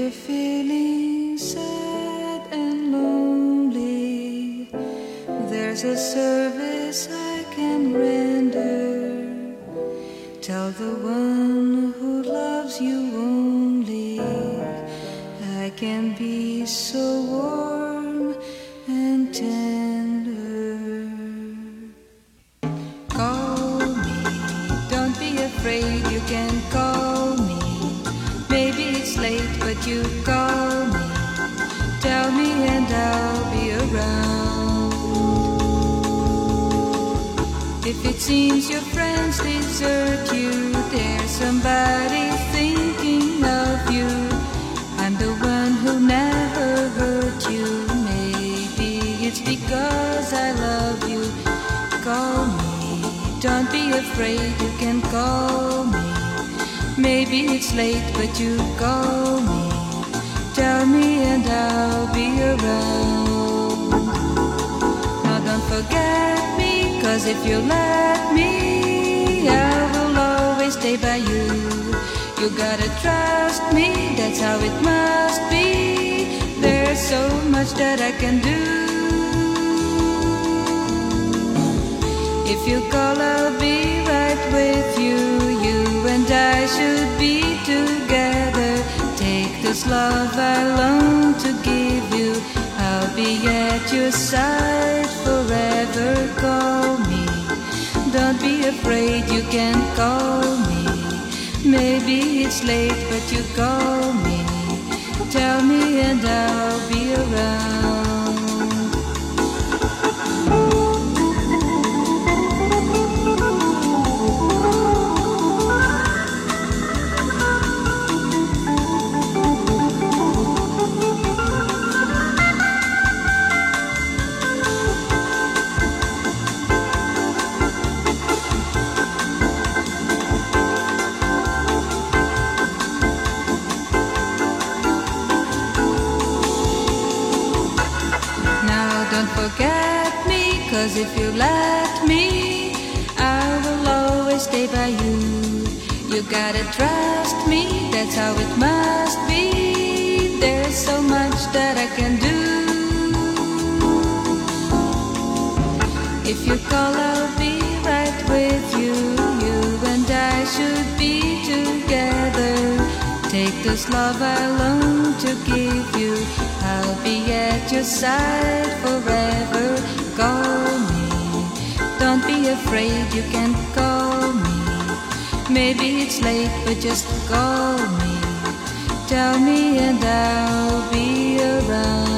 you're feeling sad and lonely, there's a service I can render. Tell the one who loves you only, I can be so warm and tender. Call me, don't be afraid, you can call me. Maybe it's late, but you call me. Tell me and I'll be around. If it seems your friends desert you, there's somebody thinking of you. I'm the one who never hurt you. Maybe it's because I love you. Call me, don't be afraid, you can call me. Maybe it's late, but you call me. Tell me and I'll be around. Now don't forget me, 'cause if you let me, I will always stay by you. You gotta trust me, that's how it must be. There's so much that I can do. If you call, I'll be right with you. You and I should be together. Take this love I long to give you. I'll be at your side forever. Call me, don't be afraid, you can call me. Maybe it's late, but you call me. Tell me and I'll be around. Don't forget me, 'cause if you let me, I will always stay by you. You gotta trust me, that's how it must be. There's so much that I can do. If you call, I'll be right with you. You and I should be together. Take this love I long to give you. I'll be at your side forever. Call me, don't be afraid, you can call me. Maybe it's late, but just call me. Tell me and I'll be around.